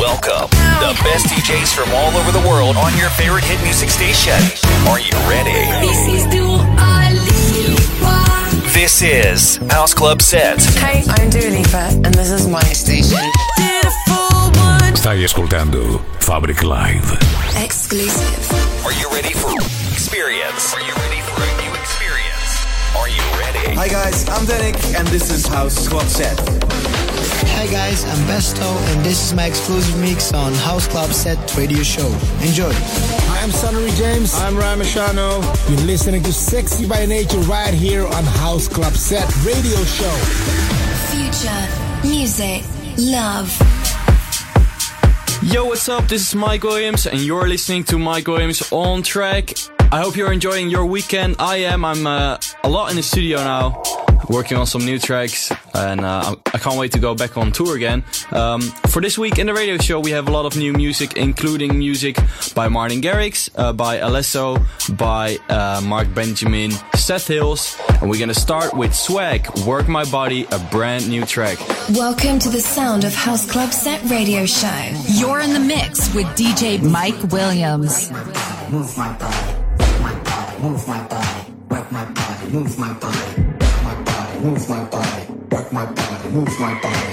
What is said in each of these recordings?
Welcome, the best DJs from all over the world on your favorite hit music station. Are you ready? This is Dua Lipa. This is House Club Set. Hey, I'm Dua Lipa and this is my station. Stai ascoltando Fabric Live. Exclusive. Are you ready for experience? Are you ready for a new experience? Are you ready? Hi guys, I'm Danik and this is House Club Set. Hi guys, I'm Besto and this is my exclusive mix on House Club Set radio show. Enjoy. Hi, I'm Sonny James. I'm Ryan Machano. You're listening to Sexy by Nature right here on House Club Set radio show. Future, music, love. Yo, what's up? This is Mike Williams and you're listening to Mike Williams on Track. I hope you're enjoying your weekend. I am. I'm a lot in the studio now, working on some new tracks, and I can't wait to go back on tour again. For this week in the radio show, we have a lot of new music, including music by Martin Garrix, by Alesso, by Mark Benjamin, Seth Hills, and we're gonna start with Swag, Work My Body, a brand new track. Welcome to the sound of House Club Set radio show. You're in the mix with DJ Mike Williams. Move my body, work my body, move my body, work my body, move my body, work my body, move my body, work my body, move my body.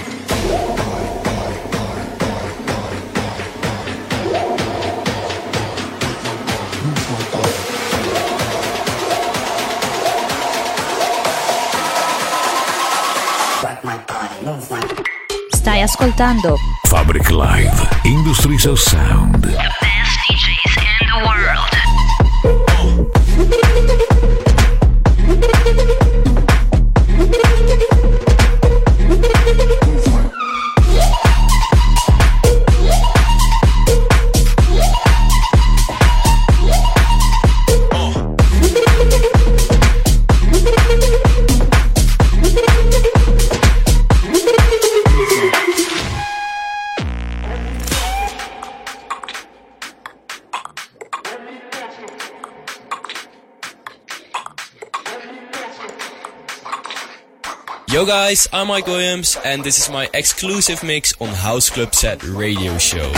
Stai ascoltando Fabric Live, Industries of Sound. the best DJs in the world. Yo guys, I'm Mike Williams and this is my exclusive mix on House Club Set radio show.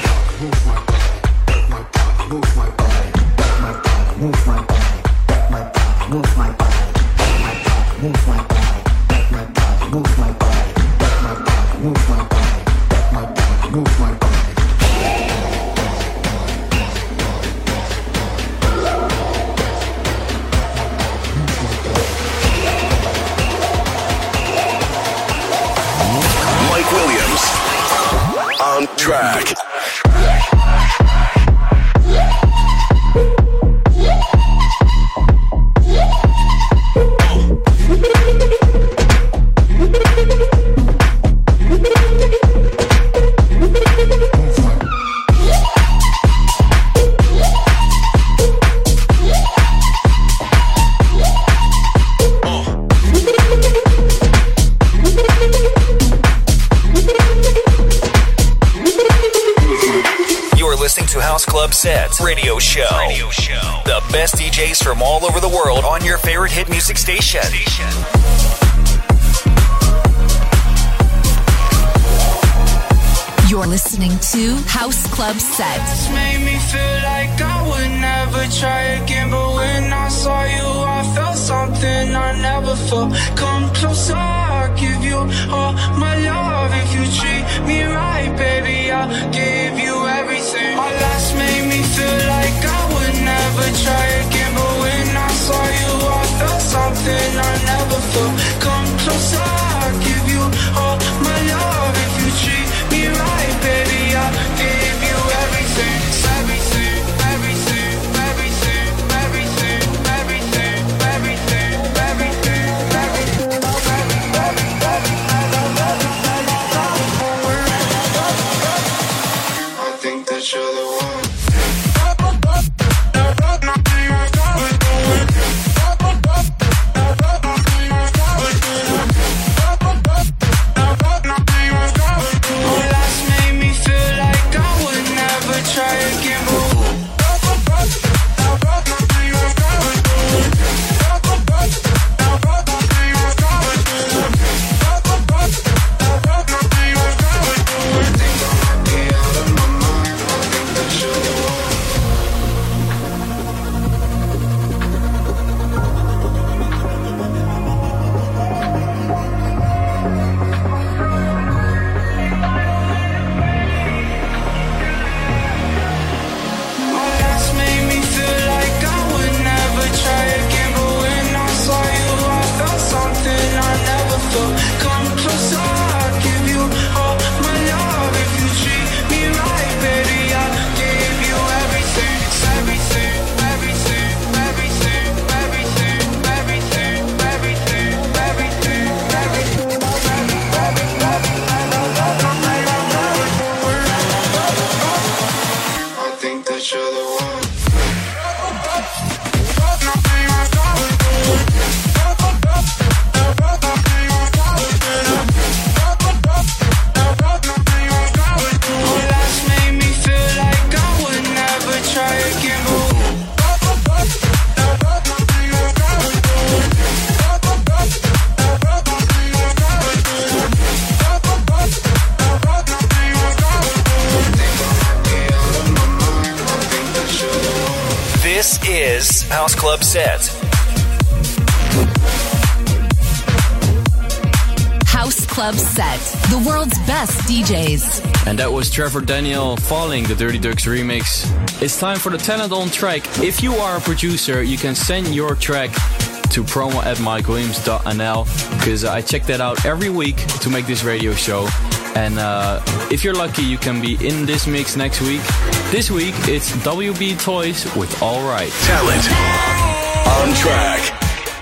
On track. Club Set radio show. The best DJs from all over the world on your favorite hit music station. You're listening to House Club Set. This made me feel like I would never try again, but when I saw you, I felt something I never felt. Come closer, I'll give you all my love. If you treat me right, baby, I'll give you everything. My last made me feel like I would never try again, but when I saw you, I felt something I never felt. Come closer, I'll give you all my love. If you treat me right, baby, I'll give you everything. Everything, everything, everything, everything, everything, everything, everything, everything, I think that you're the one. is House Club Set. House Club Set, the world's best DJs. And that was Trevor Daniel, Falling, the Dirty Ducks remix. It's time for the Talent on Track. If you are a producer, you can send your track to promo@mikewilliams.nl, because I check that out every week to make this radio show. And if you're lucky, you can be in this mix next week. This week, it's WB Toys with All Right. Talent on Track.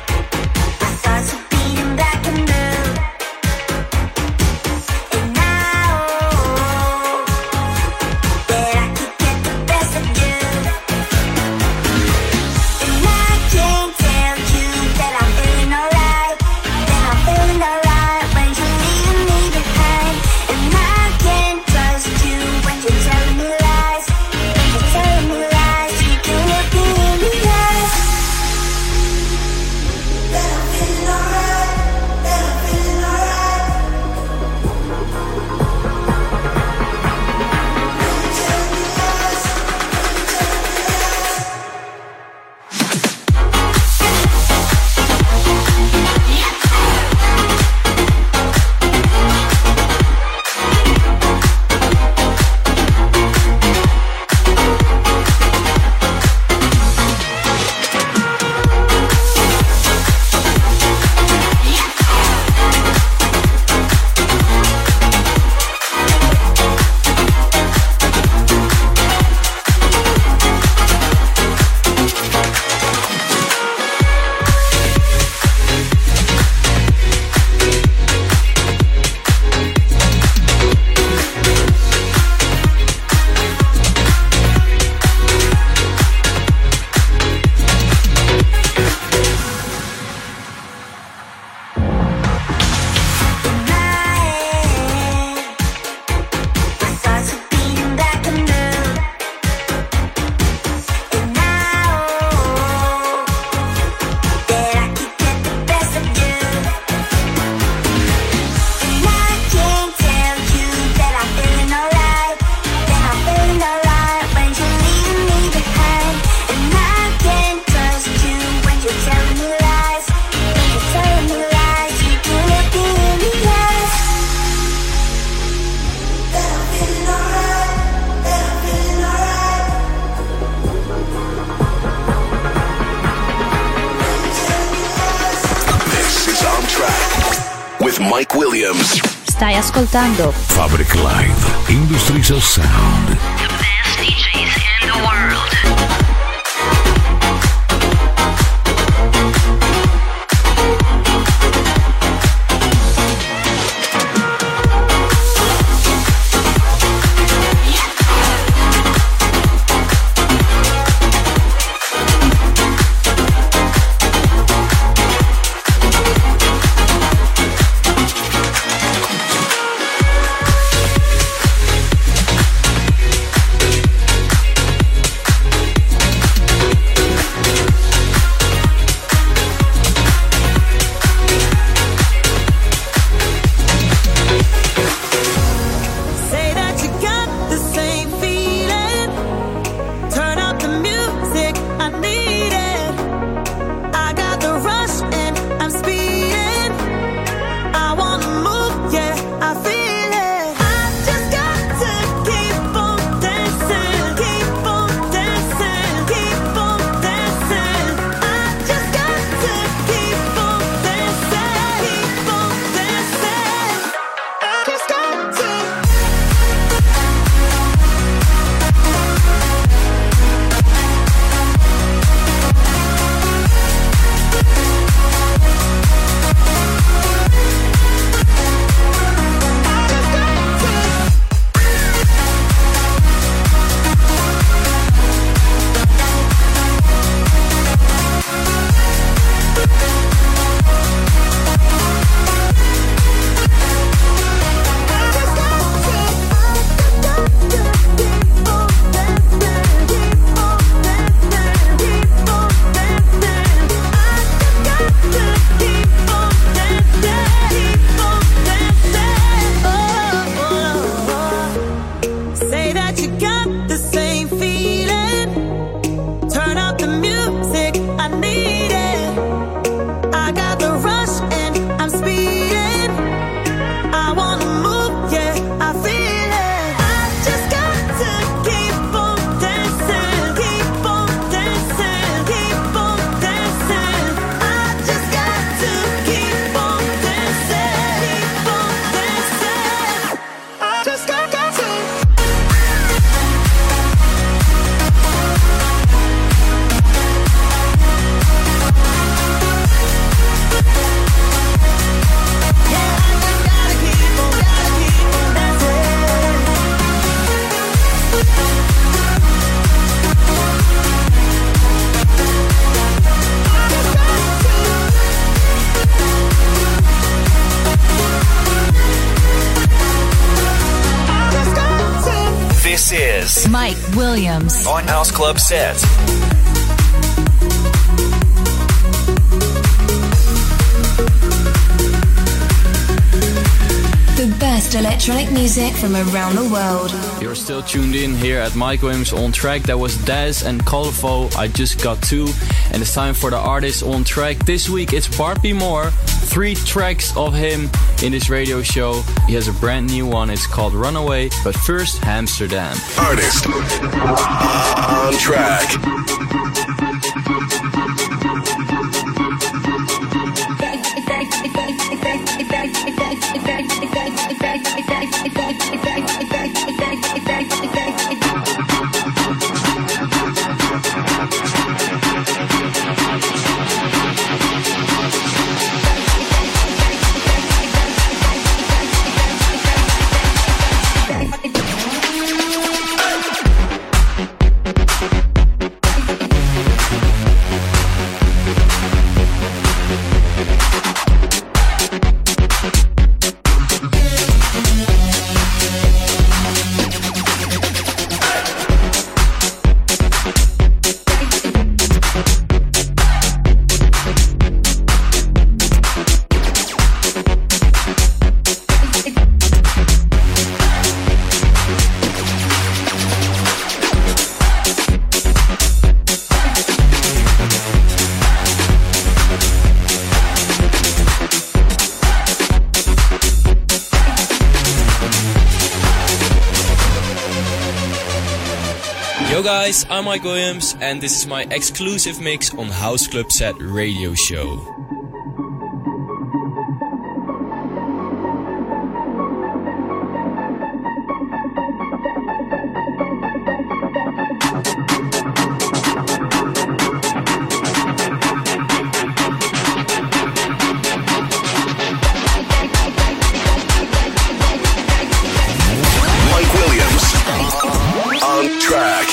Mike Williams. Stai ascoltando Fabric Live, Industries of Sound. The best DJs in the world. This is Mike Williams on House Club Set. The best electronic music from around the world. You're still tuned in here at Mike Williams on Track. That was Daz and Colorful. I Just Got Two. And it's time for the artist on track. This week it's Bart B. Moore. 3 tracks of him in this radio show. He has a brand new one. It's called Runaway. But first, Amsterdam. Artist on Track. Yo guys, I'm Mike Williams and this is my exclusive mix on House Club Set Radio Show. Mike Williams on Track.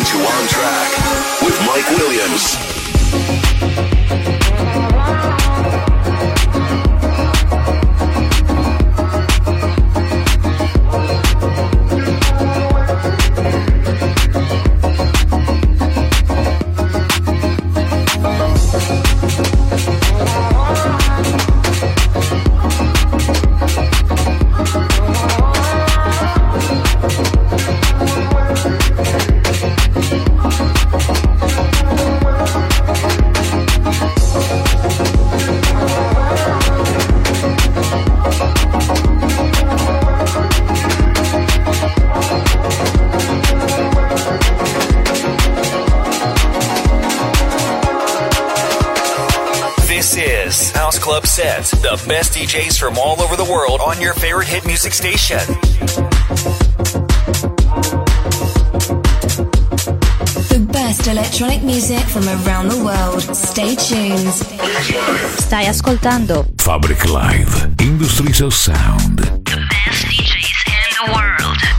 listening to On Track with Mike Williams. Club Set, the best DJs from all over the world on your favorite hit music station. The best electronic music from around the world. Stay tuned. Stai ascoltando Fabric Live, Industries of Sound. The best DJs in the world.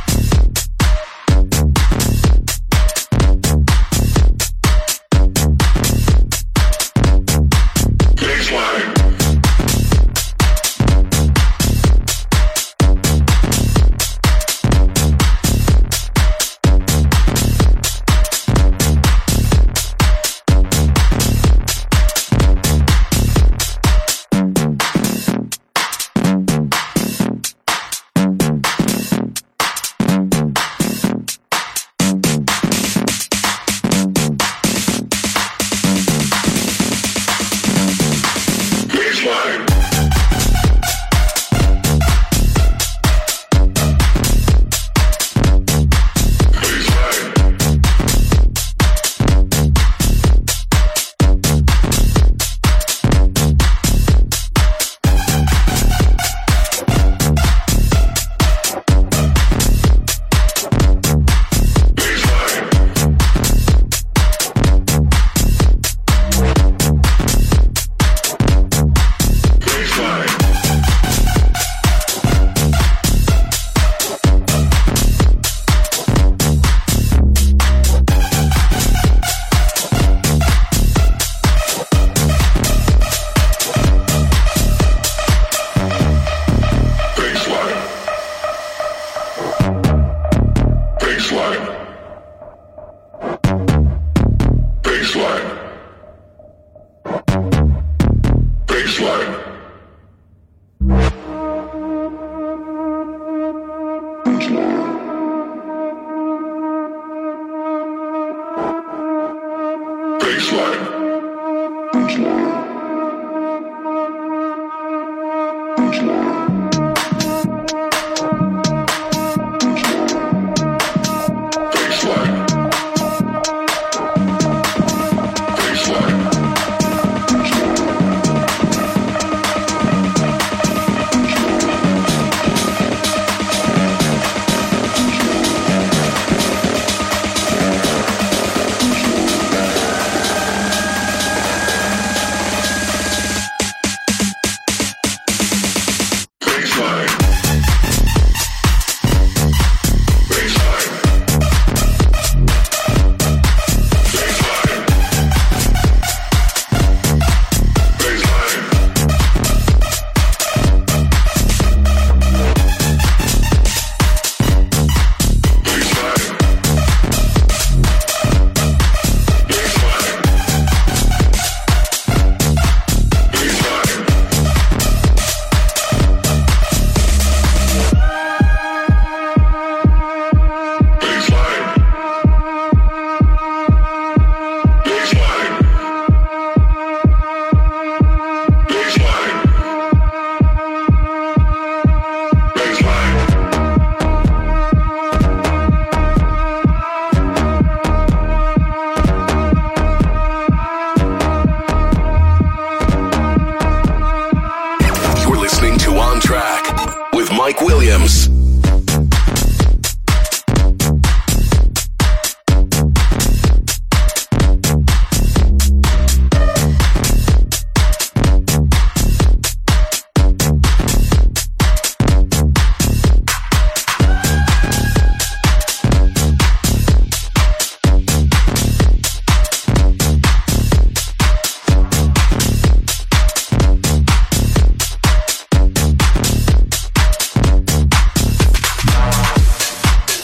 Mike Williams.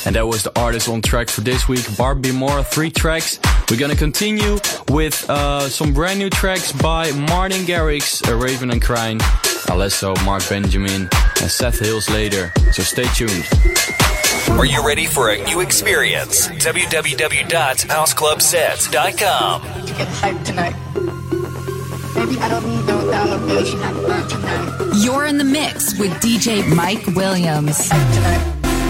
And that was the artist on track for this week, Barbie Moore, 3 tracks. We're gonna continue with some brand new tracks by Martin Garrix, Raven and Crine, Alesso, Mark Benjamin, and Seth Hills later. So stay tuned. Are you ready for a new experience? www.houseclubsets.com. Get hyped tonight. Maybe I don't need no dollar bills, you're not burnt tonight. You're in the mix with DJ Mike Williams. Hyped tonight.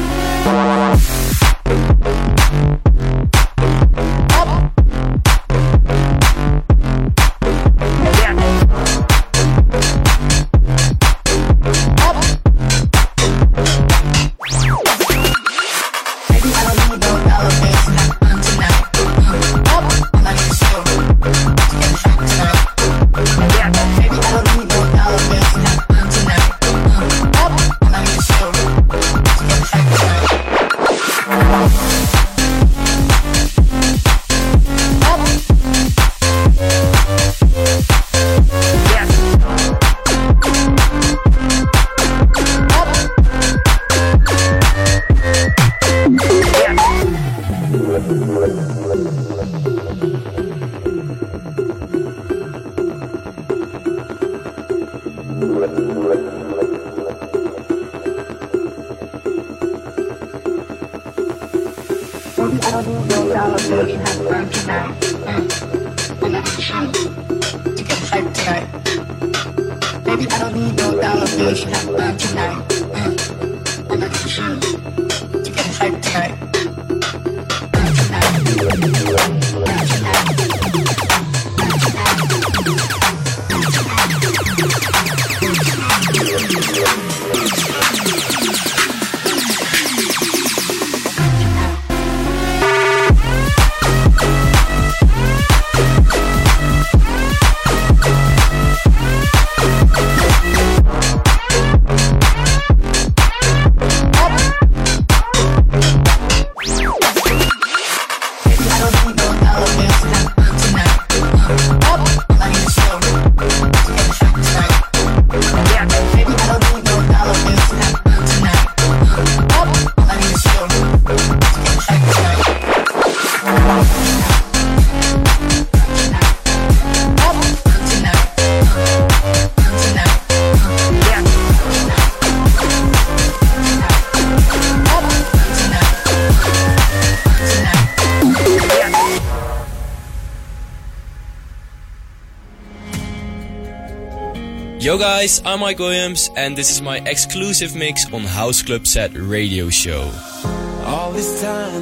Yo guys, I'm Mike Williams and this is my exclusive mix on House Club Set radio show. All this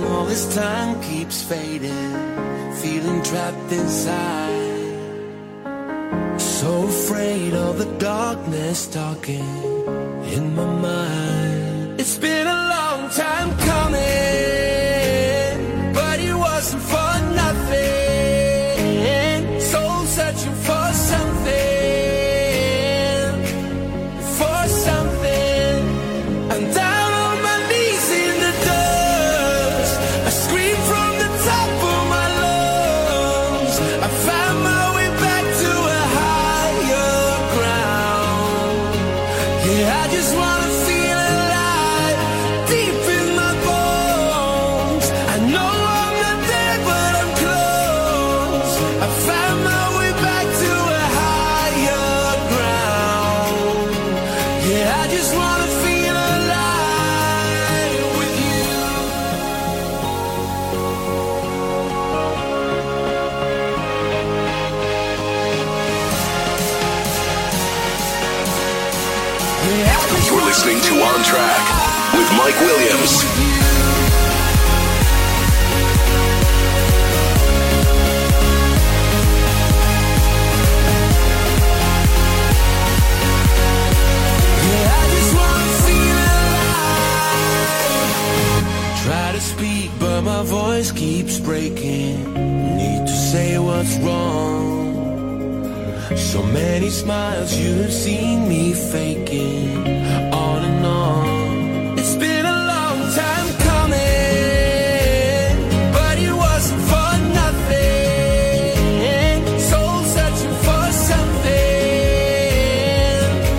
time keeps fading, feeling trapped inside. So afraid of the darkness talking in my mind. It's been a long time coming, but it wasn't for nothing. Soul searching for something. You're listening to On Track with Mike Williams. Try to speak, but my voice keeps breaking. Need to say what's wrong. So many smiles you've seen me faking, on and on. It's been a long time coming, but it wasn't for nothing. Soul searching for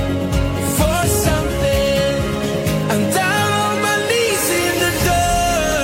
something, I'm down on my knees in the dirt.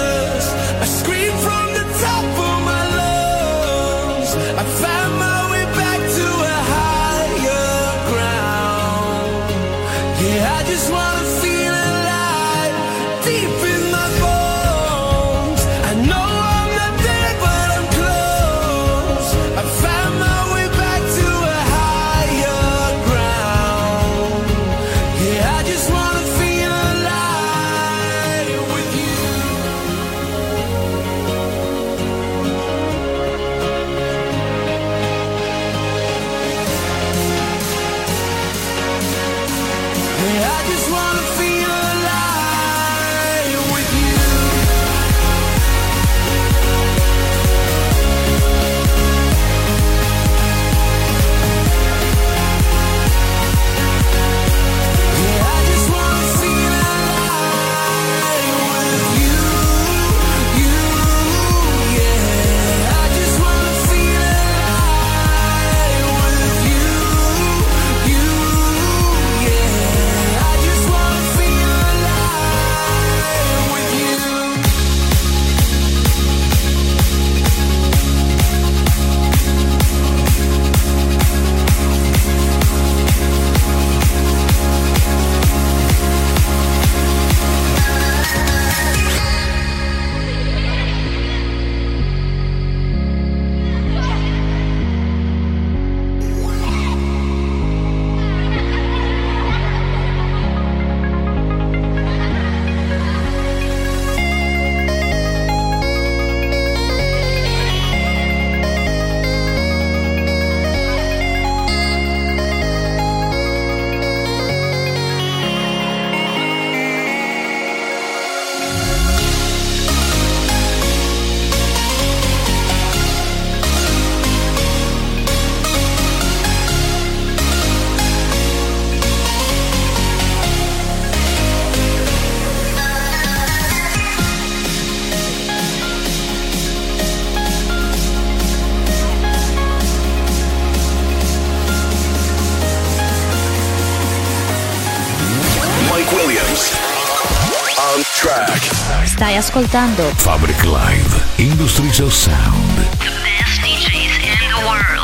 Williams. On track. Stai ascoltando Fabric Live, Industries of Sound. The best DJs in the world.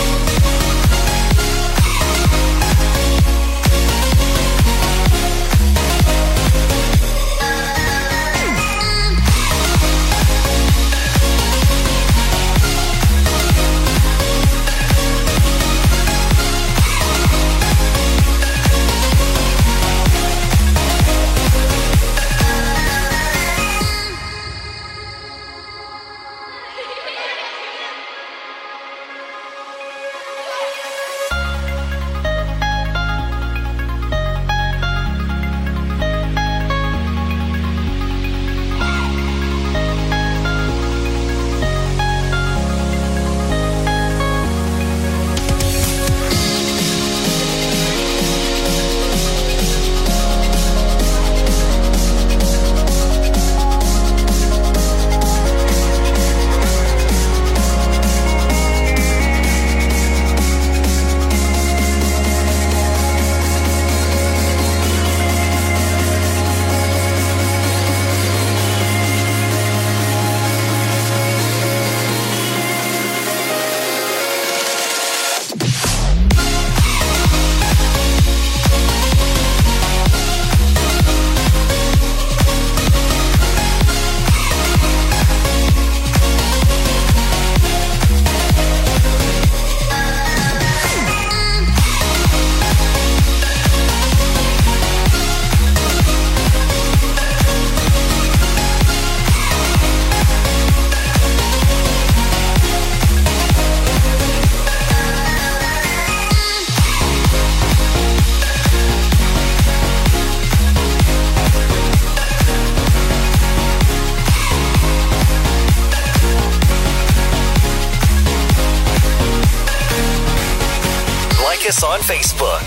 Us on Facebook,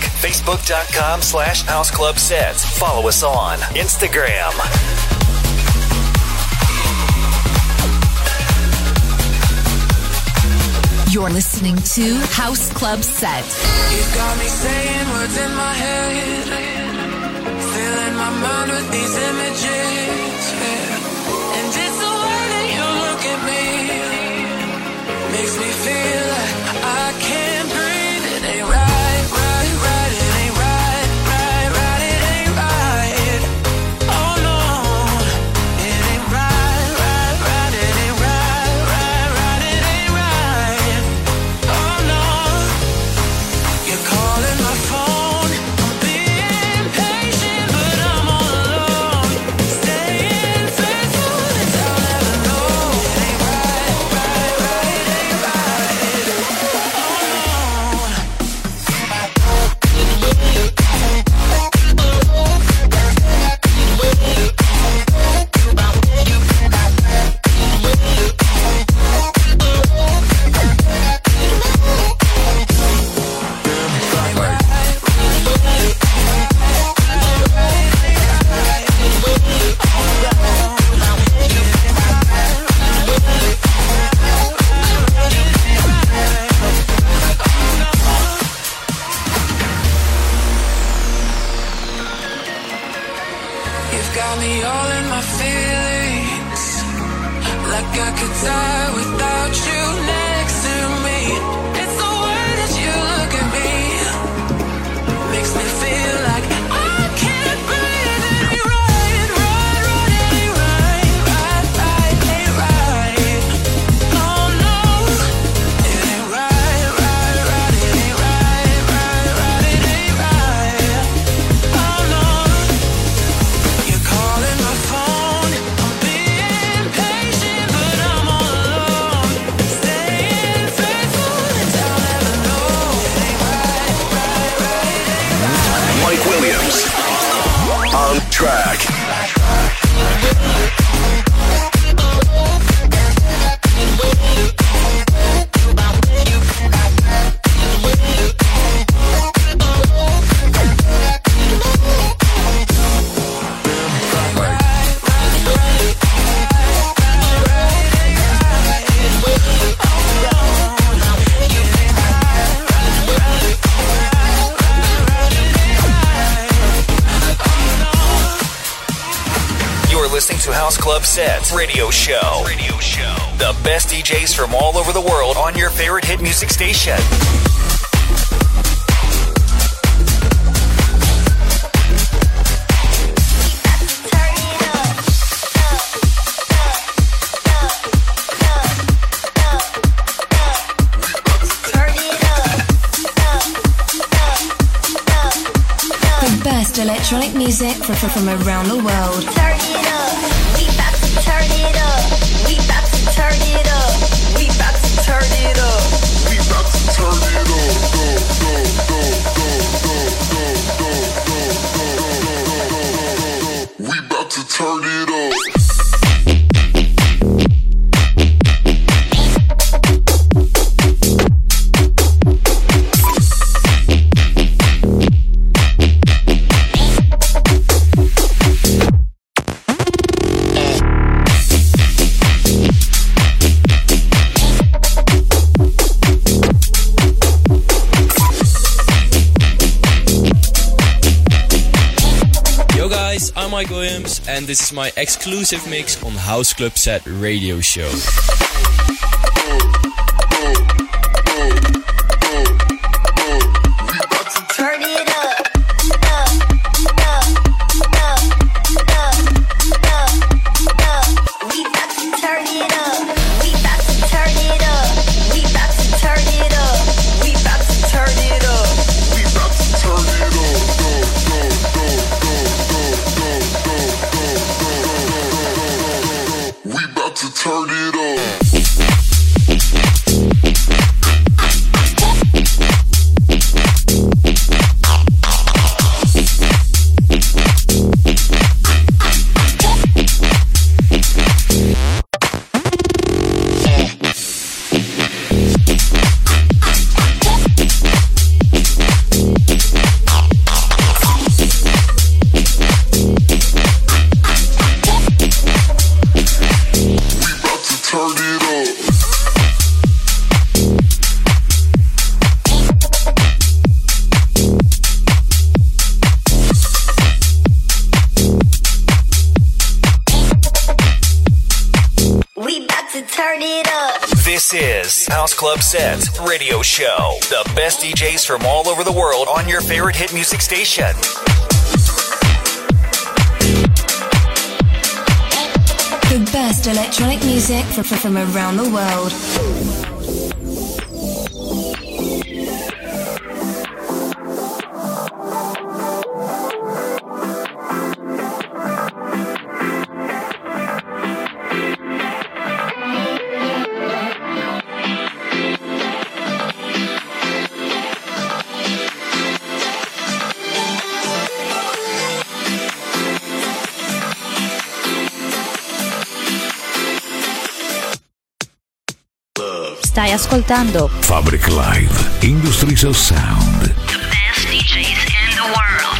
facebook.com/houseclubsets. Follow us on Instagram. You're listening to House Club Set. You got me saying words in my head, filling my mind with these images, yeah. And it's the way that you look at me, makes me feel like I can't breathe. It ain't right. listening to House Club Set Radio Show. The best DJs from all over the world on your favorite hit music station. Best electronic music from around the world. Turn it up. We about to turn it up. We about to turn it up. We about to turn it up. We about to turn it up. We about to turn it up. I'm Mike Williams, and this is my exclusive mix on House Club Set Radio Show. Turn it up. We about to turn it up. We about to turn it up. We about to turn it up. We about to turn it up. We about to turn it up. We about to turn it up. This is House Club Set Radio Show. The best DJs from all over the world on your favorite hit music station. The best electronic music from around the world. Stai ascoltando Fabric Live, Industries of Sound. The best DJs in the world.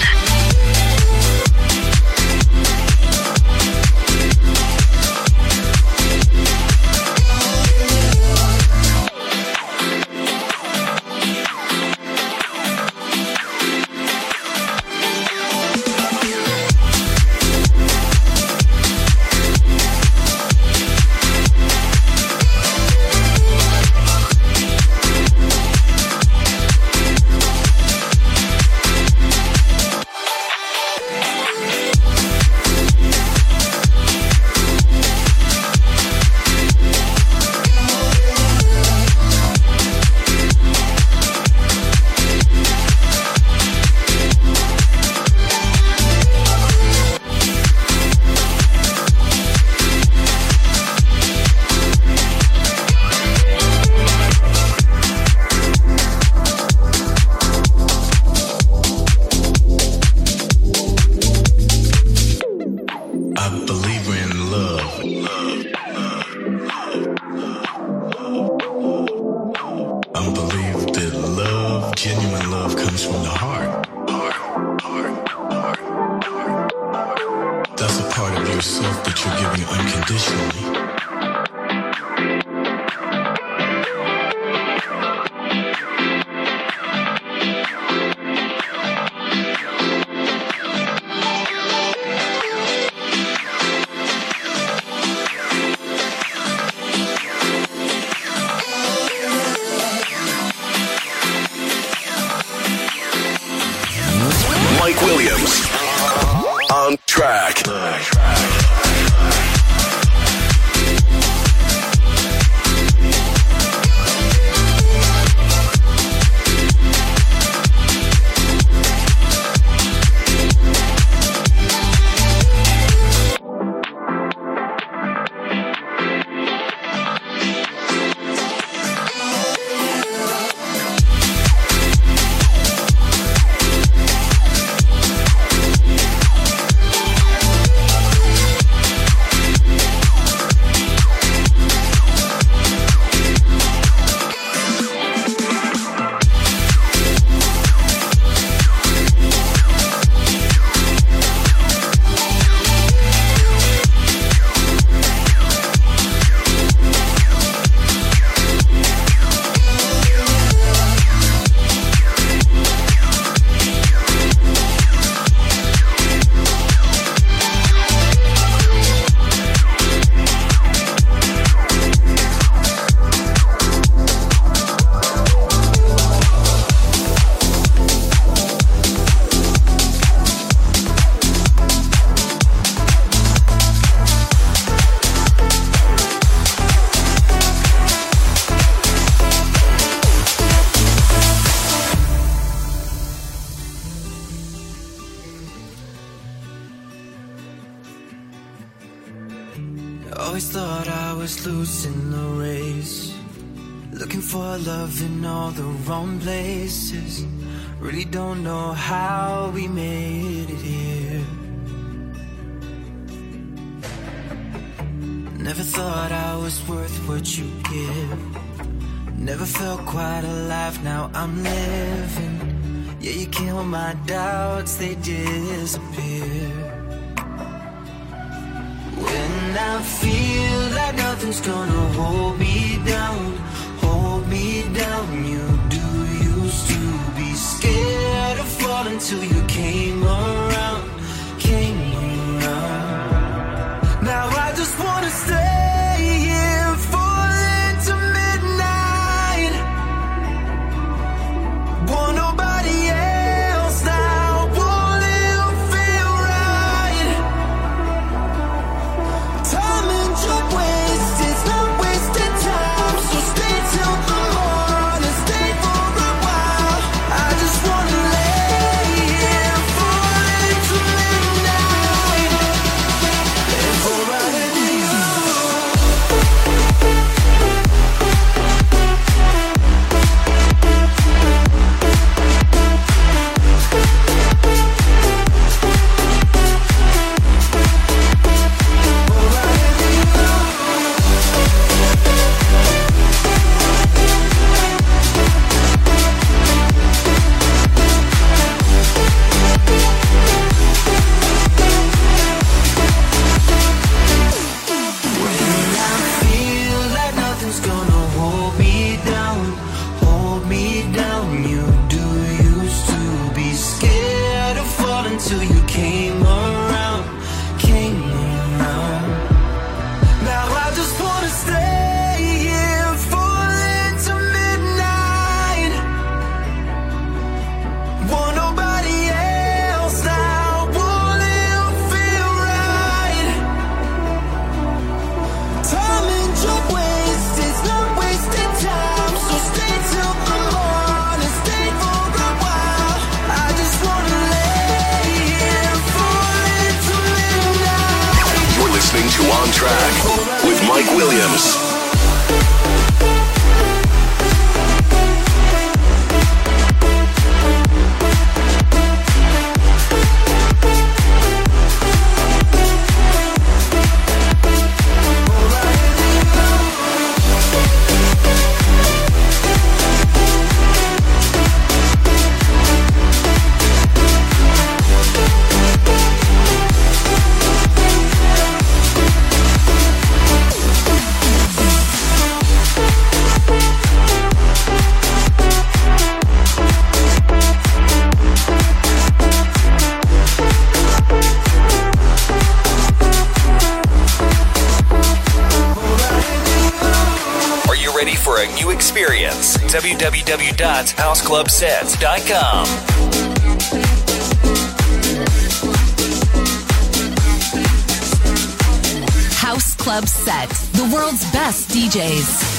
yourself that you're giving unconditionally. Always thought I was losing the race, looking for love in all the wrong places. Really don't know how we made it here. Never thought I was worth what you give. Never felt quite alive, now I'm living. Yeah, you kill my doubts, they disappear. When I feel like nothing's gonna hold me down, you do used to be scared of falling till you came around. Now I just wanna stay here, falling to midnight. Want nobody else now, won't it feel right? Time and your waste, it's not wasted time, so stay till the morning, stay for a while. I just wanna lay here, falling to midnight. And forever On Track with Mike Williams. Experience www.houseclubsets.com. Club Set, the world's best DJs.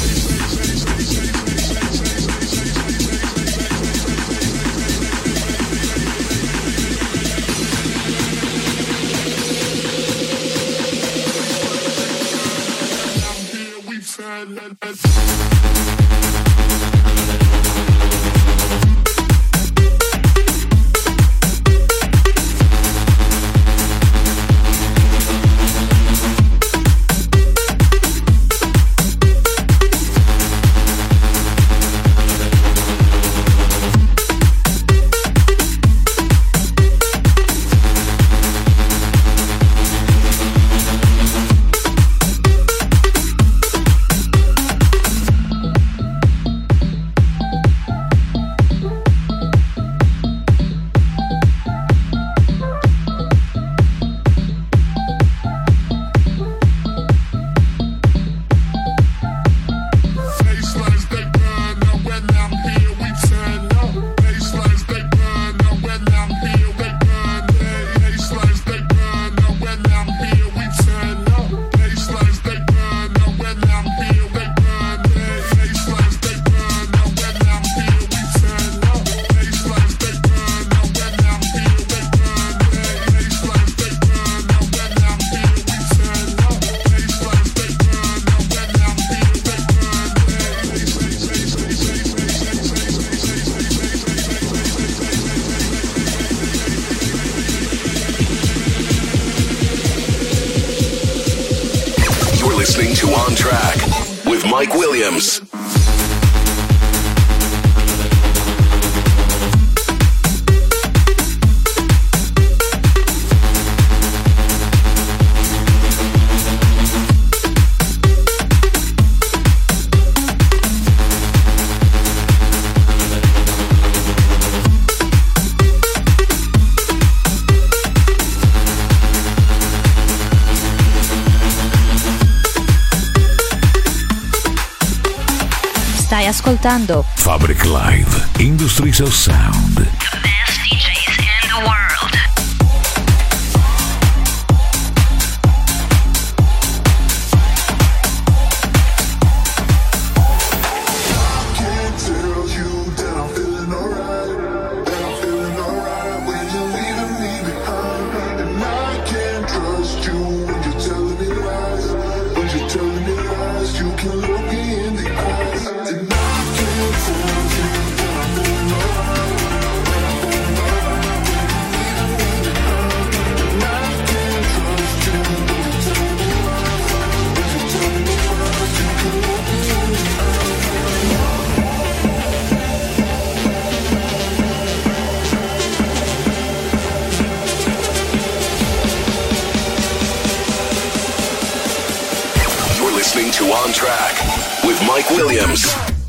Listening to On Track with Mike Williams. Stai ascoltando Fabric Live, Industries of Sound. The best DJs in the world. To On Track with Mike Williams.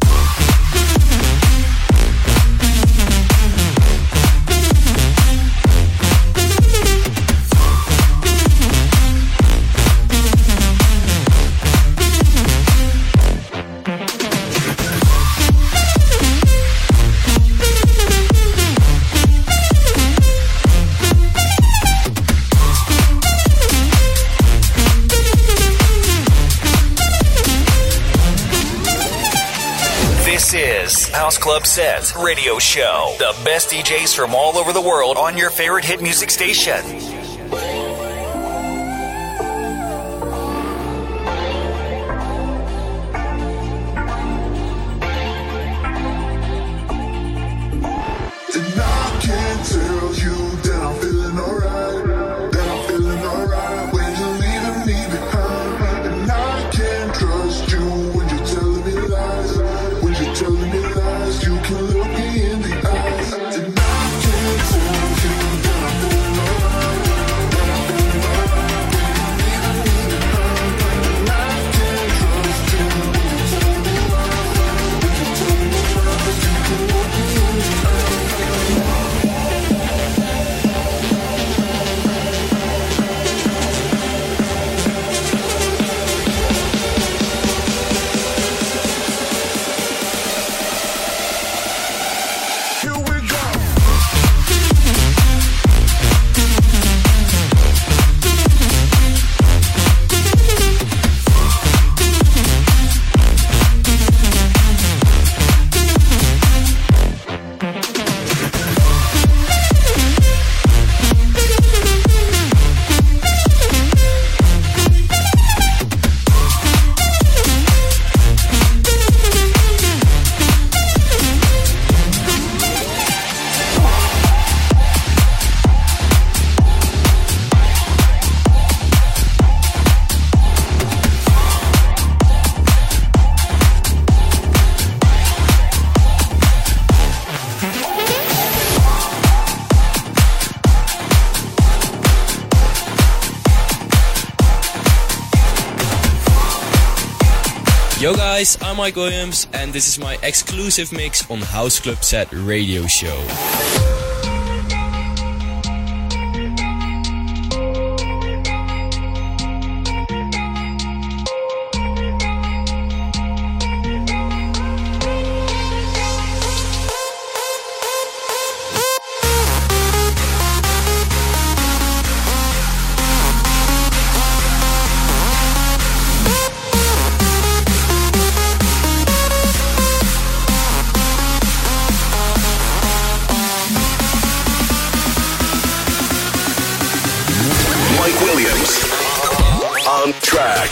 This is House Club Set Radio Show. The best DJs from all over the world on your favorite hit music station. Telling me lies, you can look me in the eyes. And I can't tell you that I'm feeling alright. Yo guys, I'm Mike Williams and this is my exclusive mix on House Club Set Radio Show. On track.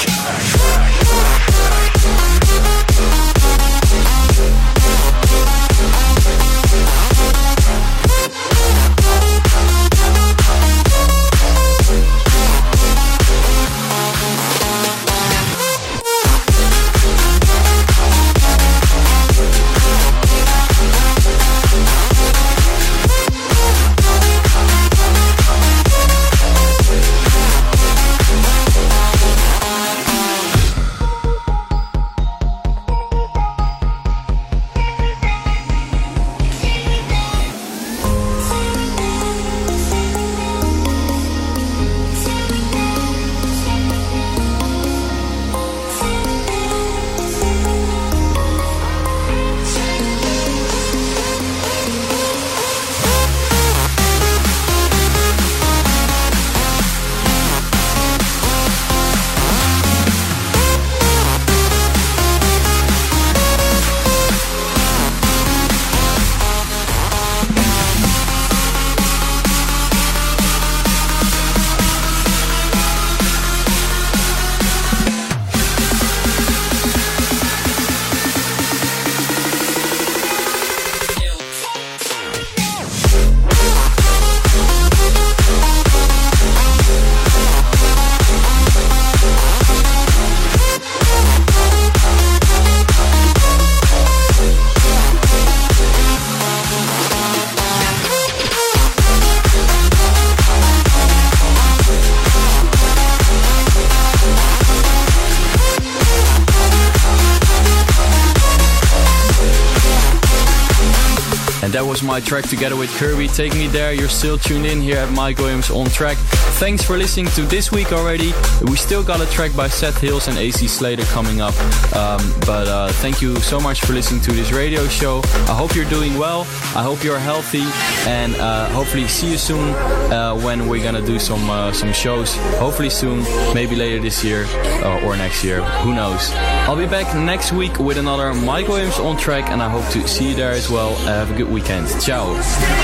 That was my track together with Kirby, Take Me There. You're still tuned in here at Mike Williams On Track. Thanks for listening to this week already. We still got a track by Seth Hills and AC Slater coming up. But thank you so much for listening to this radio show. I hope you're doing well. I hope you're healthy. And hopefully see you soon when we're going to do some shows. Hopefully soon, maybe later this year or next year. Who knows? I'll be back next week with another Mike Williams On Track. And I hope to see you there as well. Have a good weekend. Ciao.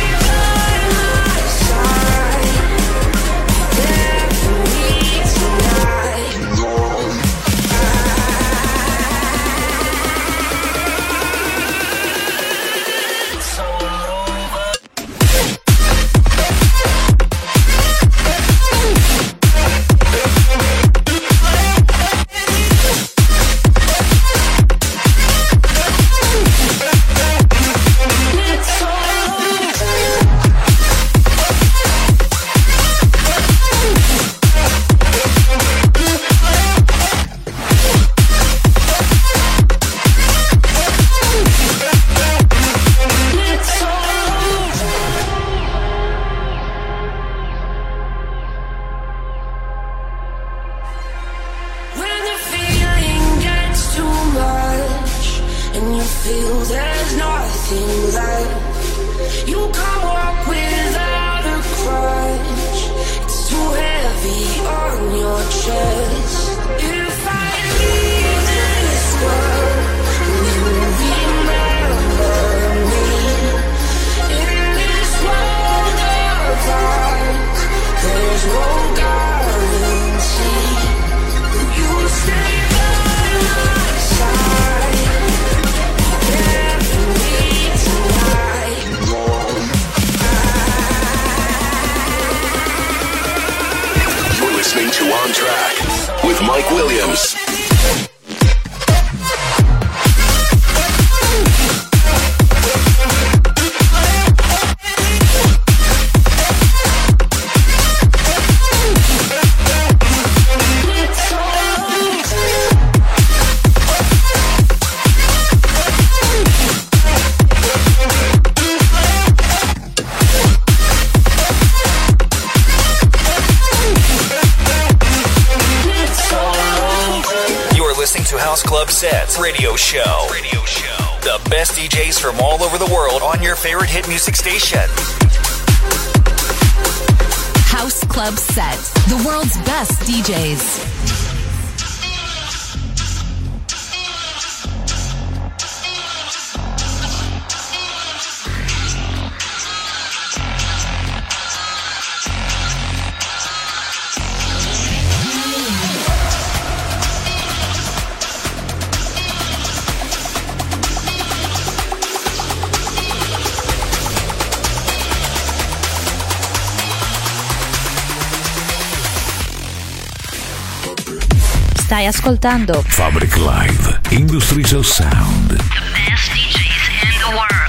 On Track with Mike Williams. listening to House Club Sets Radio Show. The best DJs from all over the world on your favorite hit music station. House Club Set, the world's best DJs. Stai ascoltando Fabric Live, Industries of Sound. The best DJs in the world.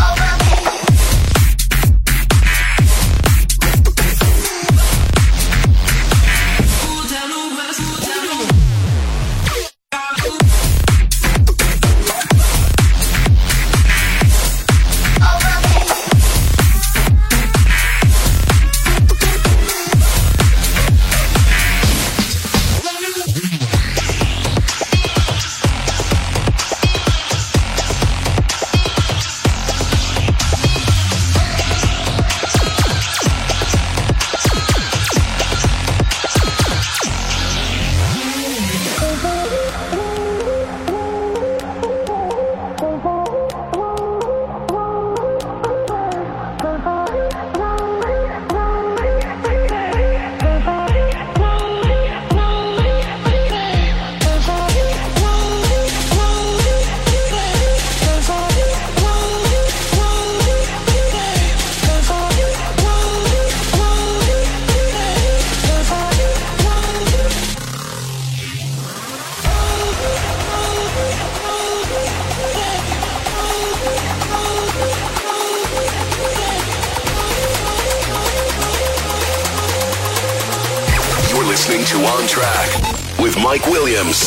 Listening to On Track with Mike Williams.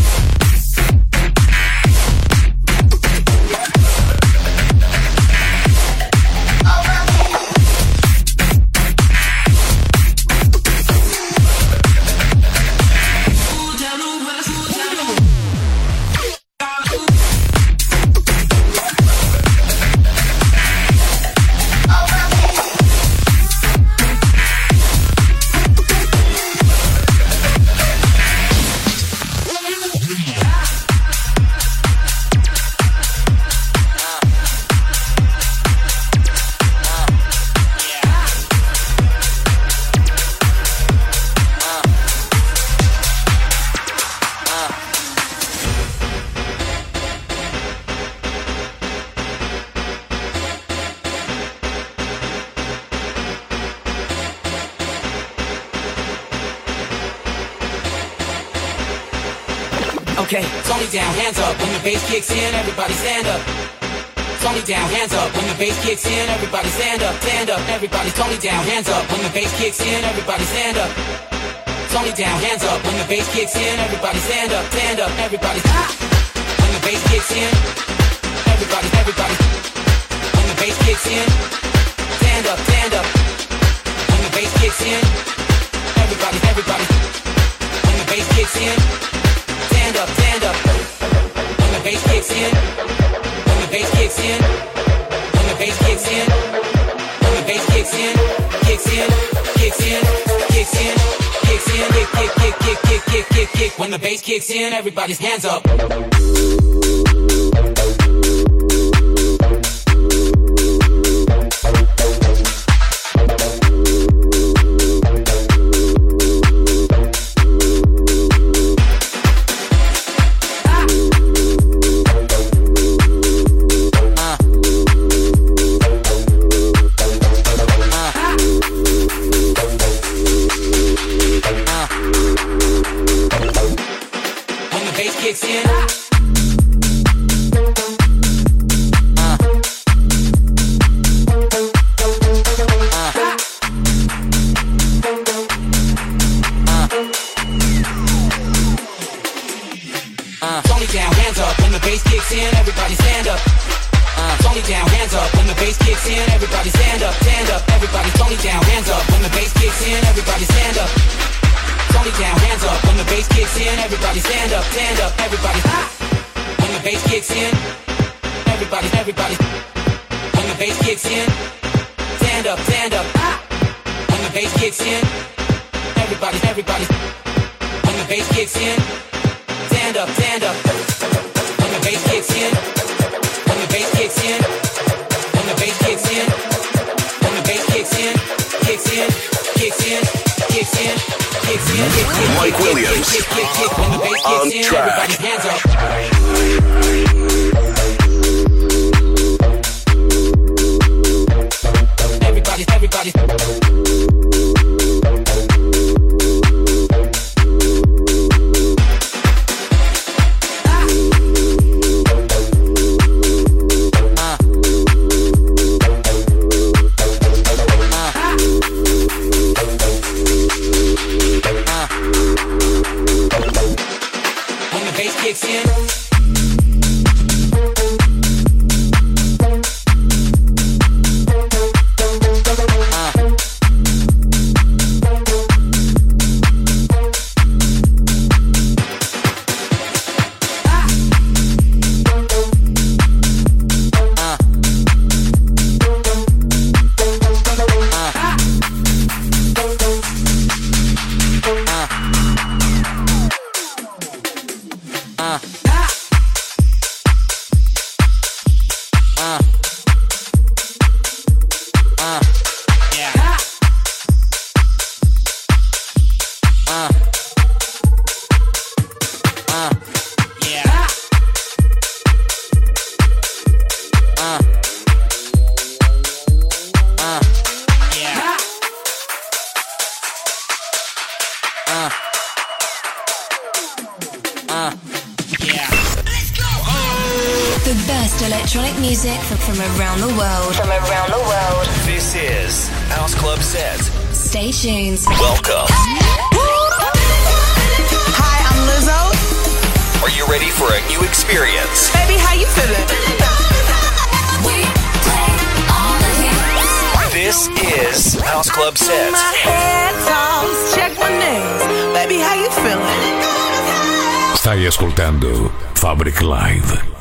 Okay, Tony down, hands up. When the bass kicks in, everybody stand up. Tony down, hands up. When the bass kicks in, everybody stand up, stand up. Everybody, Tony down, hands up. When the bass kicks in, everybody stand up. Tony down, hands up. When the bass kicks in, everybody stand up, stand up. Everybody, when the bass kicks in, everybody. When the bass kicks in, stand up, stand up. When the bass kicks in, everybody. When the bass kicks in, stand up, stand up. When the bass kicks in, when the bass kicks in, when the bass kicks in, when the bass kicks in, kicks in, kicks in, kicks in, kicks in, kick. When the bass kicks in, everybody's hands up. Kicks in. Tony down, hands up. When the bass kicks in, everybody stand up. Tony down, hands up. When the bass kicks in, everybody stand up, stand up. Everybody, Tony down, hands up. When the bass kicks in, everybody stand up. Tony down, hands up. When the bass kicks in, everybody stand up, everybody. When the bass kicks in, everybody. When the bass kicks in, stand up. When the bass kicks in, everybody. When the bass kicks in, stand up. When the bass kicks in, when the bass kicks in, when the bass kicks in, when the bass kicks in, kicks in. Mike Williams on track. Everybody's hands up. Everybody. When the bass kicks in. The best electronic music from around the world. This is House Club Set. Stay tuned. Welcome. Hi, I'm Lizzo. Are you ready for a new experience? Baby, how you feeling? This is House Club Set. My headphones, check my names. Baby, how you feeling? Stai ascoltando Fabric Live.